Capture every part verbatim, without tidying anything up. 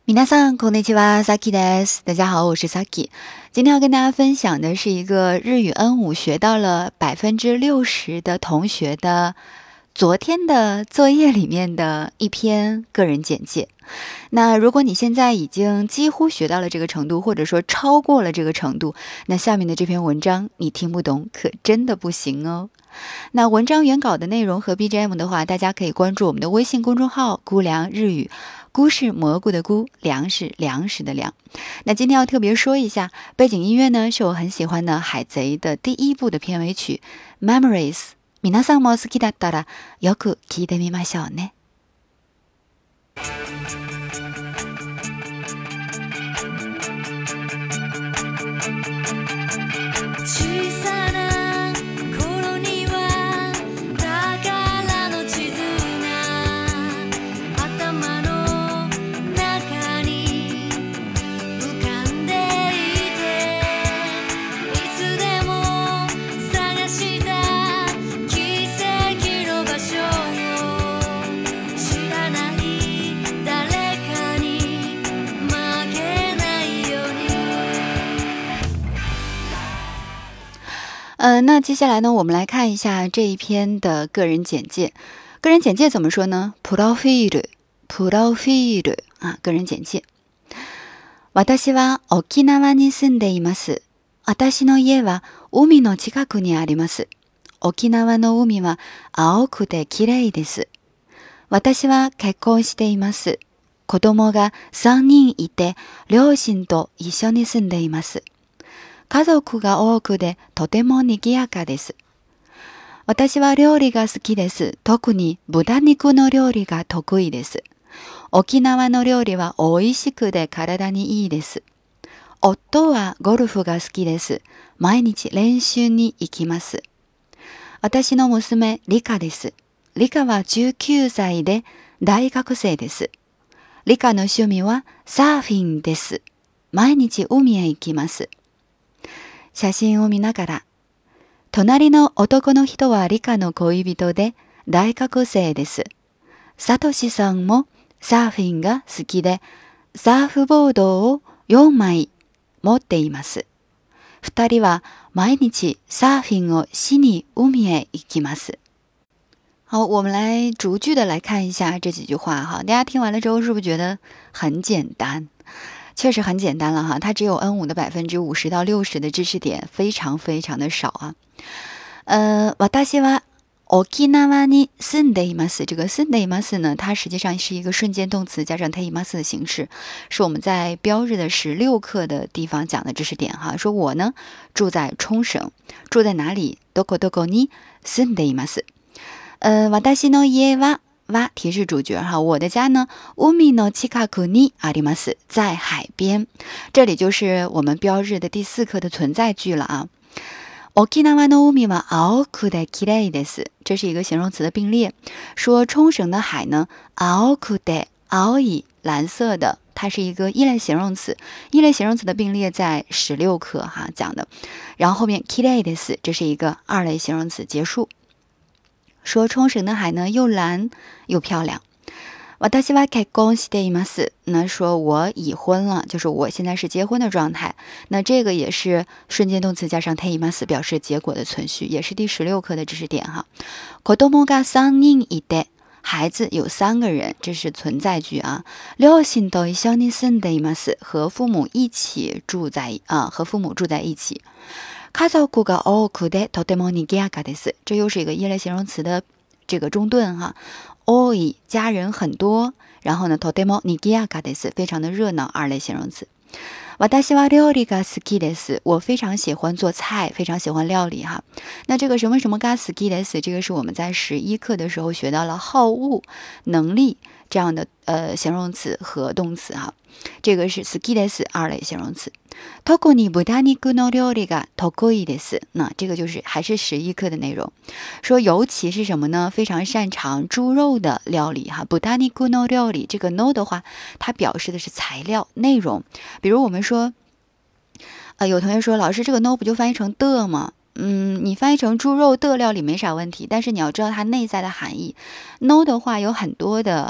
皆さんこんにちは、Saki です。大家好，我是 Saki。今天要跟大家分享的是一个日语 N 五 学到了百分之六十的同学的昨天的作业里面的一篇个人简介。那如果你现在已经几乎学到了这个程度，或者说超过了这个程度，那下面的这篇文章你听不懂可真的不行哦。那文章原稿的内容和 B G M 的话，大家可以关注我们的微信公众号估量日语，菇是蘑菇的菇，粮是粮食的粮。那今天要特别说一下，背景音乐呢是我很喜欢的海贼的第一部的片尾曲 Memories。皆さんも好きだったらよく聞いてみましょうね。呃，那接下来呢，我们来看一下这一篇的个人简介。个人简介怎么说呢？プロフィール、プロフィール啊，个人简介。私は沖縄に住んでいます。私の家は海の近くにあります。沖縄の海は青くて綺麗です。私は結婚しています。子供がさんにんいて、両親と一緒に住んでいます。家族が多くでとても賑やかです。私は料理が好きです。特に豚肉の料理が得意です。沖縄の料理は美味しくて体にいいです。夫はゴルフが好きです。毎日練習に行きます。私の娘、リカです。リカはじゅうきゅうさいで大学生です。リカの趣味はサーフィンです。毎日海へ行きます。写真を見ながら、隣の男の人はリカの恋人で大学生です。サトシさんもサーフィンが好きで、サーフボードをよんまい持っています。二人は毎日サーフィンをしに海へ行きます。好，我们来逐句的来看一下这几句话哈。大家听完了之后是不是觉得很简单？确实很简单了哈，它只有 N 五 的百分之五十到六十的知识点，非常非常的少啊。呃，私は沖縄に住んでいます。这个住んでいます呢，它实际上是一个瞬间动词加上ています的形式，是我们在标日的十六课的地方讲的知识点哈。说我呢住在冲绳，住在哪里？どこどこに住んでいます。呃，私の家は哇，提示主角哈，我的家呢，海の近くにあります，在海边。这里就是我们标日的第四课的存在句了啊。沖縄の海は青くて綺麗です，这是一个形容词的并列，说冲绳的海呢，青くて青い蓝色的，它是一个一类形容词，一类形容词的并列在十六课哈讲的，然后后面綺麗です，这是一个二类形容词，结束。说冲绳的海呢又蓝又漂亮。私は結婚しています。那说我已婚了，就是我现在是结婚的状态。那这个也是瞬间动词加上ています表示结果的存续，也是第十六课的知识点哈。子供がさんにんいて，孩子有三个人，这是存在句啊。両親と一緒に住んでいます，和父母一起住在啊，和父母住在一起。家族が多くでとても賑やかです。这又是一个一类形容词的这个中顿哈。多い家人很多，然后呢とても賑やかです，非常的热闹，二类形容词。私は料理が好きです。我非常喜欢做菜，非常喜欢料理哈。那这个什么什么が好きです，这个是我们在十一课的时候学到了好恶、能力这样的呃形容词和动词哈。这个是好きです二类形容词。特に豚肉の料理が得意です。那这个就是还是十一课的内容，说尤其是什么呢？非常擅长猪肉的料理哈。豚肉の料理这个 no 的话，它表示的是材料内容。比如我们说，呃，有同学说老师这个 no 不就翻译成的吗？嗯，你翻译成猪肉的料理没啥问题，但是你要知道它内在的含义。no 的话有很多的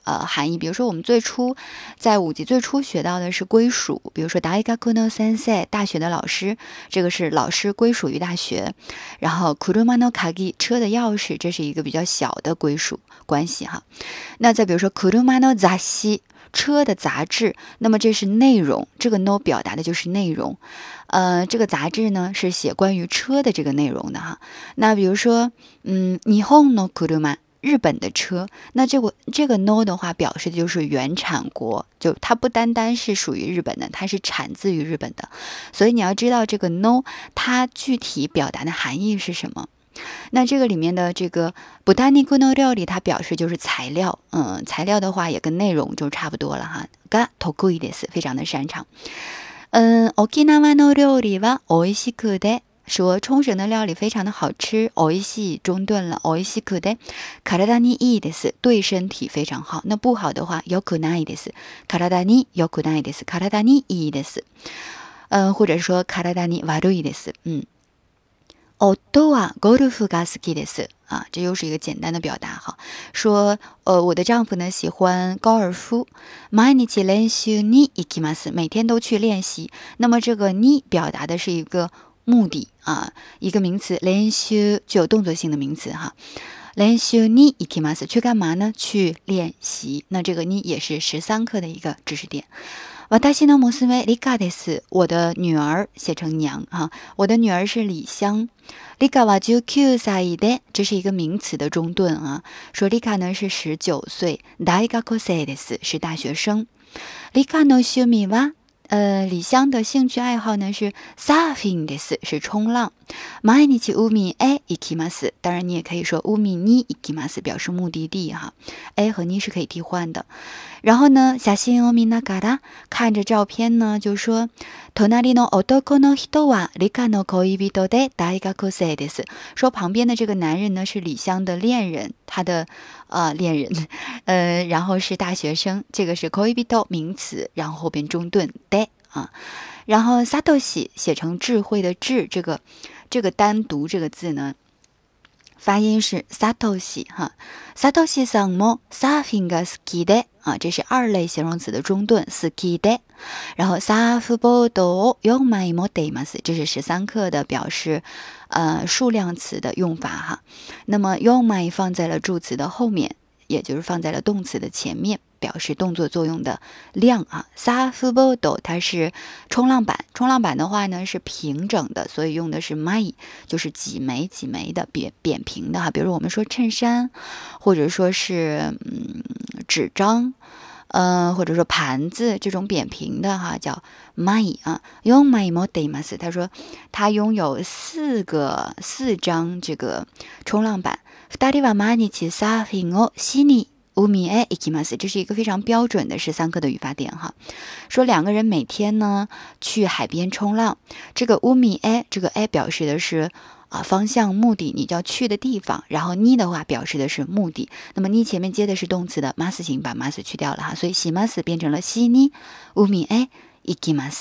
呃含义。比如说我们最初在五级最初学到的是归属，比如说大学の先生，大学的老师，这个是老师归属于大学。然后車の鍵，车的钥匙，这是一个比较小的归属关系哈。那再比如说車の雑誌，车的杂志，那么这是内容，这个 no 表达的就是内容。呃，这个杂志呢是写关于车的这个内容的哈。那比如说，嗯，日本の車，日本的车，那这个这个 no 的话表示的就是原产国，就它不单单是属于日本的，它是产自于日本的。所以你要知道这个 no 它具体表达的含义是什么。那这个里面的这个豚肉の料理，它表示就是材料，嗯，材料的话也跟内容就差不多了哈。が得意です，非常的擅长。嗯，沖縄の料理は美味しくて，说冲绳的料理非常的好吃，美味しい中顿了，美味しくて体にいいです，对身体非常好。那不好的话，良くないです，体に良くないです，体にいいです。嗯，或者说体に悪いです。嗯。夫はゴルフが好きです啊，这又是一个简单的表达哈。说呃，我的丈夫呢喜欢高尔夫，毎日練習に行きます，每天都去练习。那么这个に表达的是一个目的啊，一个名词，練習具有动作性的名词哈。練習に行きます，去干嘛呢？去练习。那这个に也是十三课的一个知识点。私の娘リカです。我的女儿写成娘哈，我的女儿是李香。リカはじゅうきゅうさいで，这是一个名词的中顿啊。说リカ呢是十九岁，大学生です，是大学生。リカの趣味は呃，李香的兴趣爱好呢是サーフィンです，是冲浪。毎日海へ行きます。当然你也可以说海に行きます，表示目的地哈。A 和に是可以替换的。然后呢，写真を見ながら，看着照片呢，就说隣の男の人はリカの恋人で大学生です。说旁边的这个男人呢是李香的恋人，他的呃恋人，呃，然后是大学生，这个是恋人名词，然后后边中顿で啊，然后サトシ写成智慧的智，这个这个单独这个字呢。发音是サトシ哈，サトシさんもサーフィンが好きで啊，这是二类形容词的中顿，好きで。然后サーフボードをよんまい持っています，这是十三课的表示呃数量词的用法哈。那么よんまい放在了助词的后面，也就是放在了动词的前面，表示动作作用的量啊。サーフボード它是冲浪板，冲浪板的话呢是平整的，所以用的是枚，就是几枚几枚的扁扁平的哈。比如我们说衬衫，或者说是嗯纸张，呃或者说盘子这种扁平的哈，叫枚啊。よんまい持っています。他说他拥有四个四张这个冲浪板。二人は毎日サーフィンをしに海へ行きます。这是一个非常标准的十三课的语法点哈。说两个人每天呢去海边冲浪，这个海へ这个 a 表示的是啊方向目的，你就要去的地方，然后に的话表示的是目的。那么に前面接的是动词的ます形，把ます去掉了哈，所以します变成了しに海へ行きます。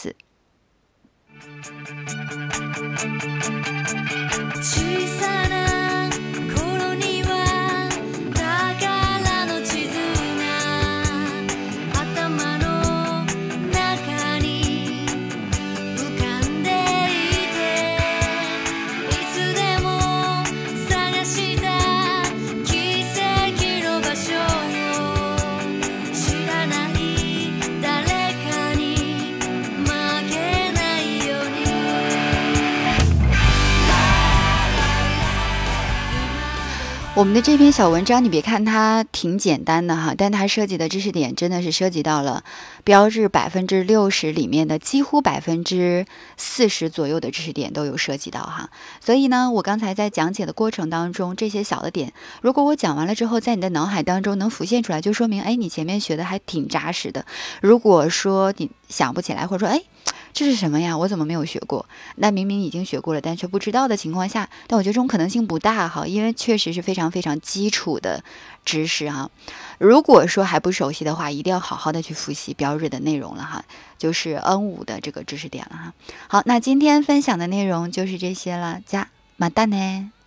我们的这篇小文章，你别看它挺简单的哈，但它涉及的知识点真的是涉及到了标志百分之六十里面的几乎百分之四十左右的知识点都有涉及到哈。所以呢，我刚才在讲解的过程当中，这些小的点，如果我讲完了之后，在你的脑海当中能浮现出来，就说明哎，你前面学的还挺扎实的。如果说你想不起来，或者说哎，这是什么呀？我怎么没有学过？那明明已经学过了，但却不知道的情况下，但我觉得这种可能性不大哈，因为确实是非常非常基础的知识哈。如果说还不熟悉的话，一定要好好的去复习标日的内容了哈，就是 N 五 的这个知识点了哈。好，那今天分享的内容就是这些了，加马蛋呢。